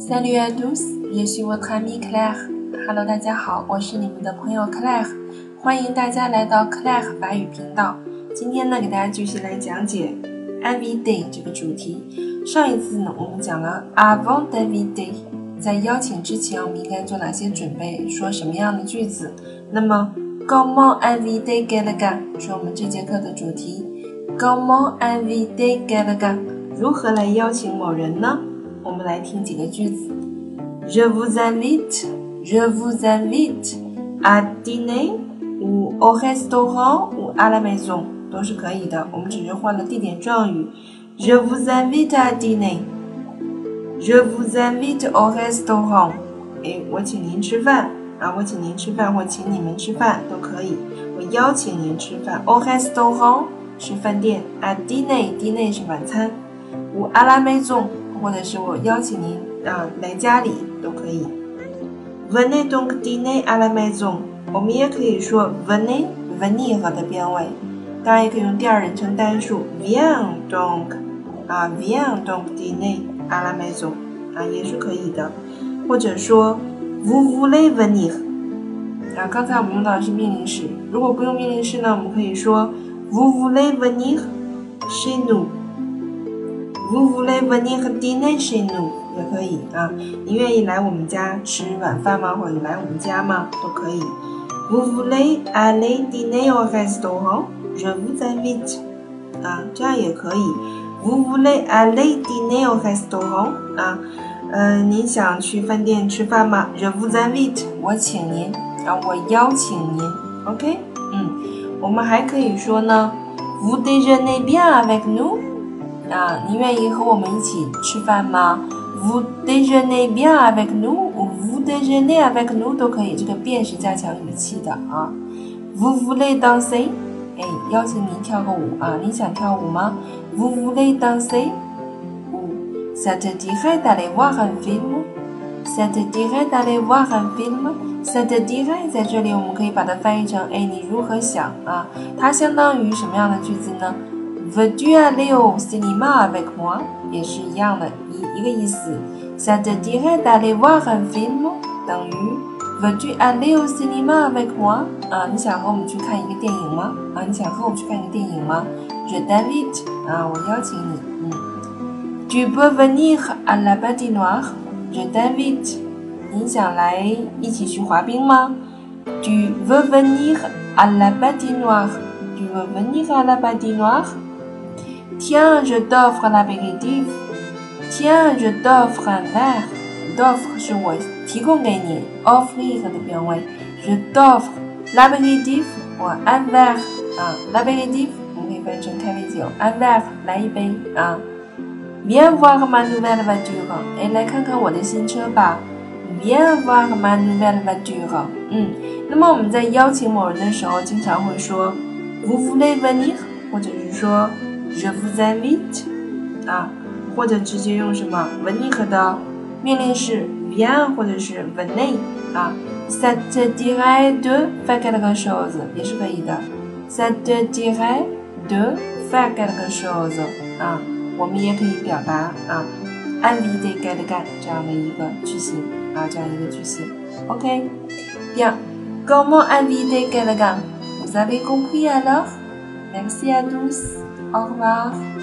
Salut à tous, je suis votre amie Claire。Hello， 大家好，我是你们的朋友 Claire， 欢迎大家来到 Claire 法语频道。今天呢，给大家继续来讲解 invité 这个主题。上一次呢，我们讲了 avant d'inviter， 在邀请之前，我们应该做哪些准备，说什么样的句子。那么 comment inviter quelqu'un 是我们这节课的主题。comment inviter quelqu'un 如何来邀请某人呢？我们来听几个句子。Je vous invite à dîner ou au restaurant ou à la maison 都是可以的，我们只是换了地点状语。Je vous invite à dîner， Je vous invite au restaurant， 我请您吃饭啊，我请您吃饭或请你们吃饭都可以，我邀请您吃饭。Au restaurant 是饭店， à dîner 是晚餐， ou à la maison或者是我邀请您来家里都可以。Venez donc dîner à la maison， 我们也可以说 venez venir 的变位，当然也可以用第二人称单数 viens donc dîner à la maison 也是可以的，或者说 vous voulez venir 刚才我们用到的是命令式，如果不用命令式呢，我们可以说 vous voulez venir chez nous。Vous voulez venir dîner chez nous 也可以你愿意来我们家吃晚饭吗？或者来我们家吗？都可以。Vous voulez aller dîner au restaurant? Je vous invite 这样也可以。Vous voulez aller dîner au restaurant? 您想去饭店吃饭吗？ Je vous invite 我请您我邀请您 OK 我们还可以说呢 Vous déjeunez bien avec nous?你愿意和我们一起吃饭吗？ Vous déjeunez bien avec nous ou vous déjeunez avec nous 都可以，这个bien是加强语气的Vous voulez danser 邀请您跳个舞你想跳舞吗？ Vous voulez danser ou ça te dirait d'aller voir un film Ça te dirait d'aller voir un film Ça te dirait 在这里我们可以把它翻译成你如何想它相当于什么样的句子呢？Veux-tu aller au cinéma avec moi 也是一样的一个意思 Ça te dirait d'aller voir un film 等于 Veux-tu aller au cinéma avec moi 你想和我们去看一个电影吗你想和我去看一个电影吗 Je t'invite 我邀请你Tu peux venir à la patinoire Je t'invite 你想来一起去滑冰吗 Tu veux venir à la patinoire Tu veux venir à la patinoire Tiens, je t'offre l'apéritif. Tiens, je t'offre un verre. D'offre 是我提供给你 offrir 的变位 Je t'offre l'apéritif 或 un verre l'apéritif 我们可以翻译成开杯酒 un verre 来一杯Viens voir ma nouvelle voiture 来看看我的新车吧 Viens voir ma nouvelle voiture 那么我们在邀请某人的时候经常会说 Vous voulez venir 或者是說Je vous invite 或者直接用什么 venir 的命令式 viens 或者是 venez Ça te dirait de faire quelque chose 也是可以的 Ça te dirait de faire quelque chose 我们也可以表达inviter quelqu'un 这样的一个句型这样一个句型 OK Bien Comment inviter quelqu'un Vous avez compris alors Merci à tous Au revoir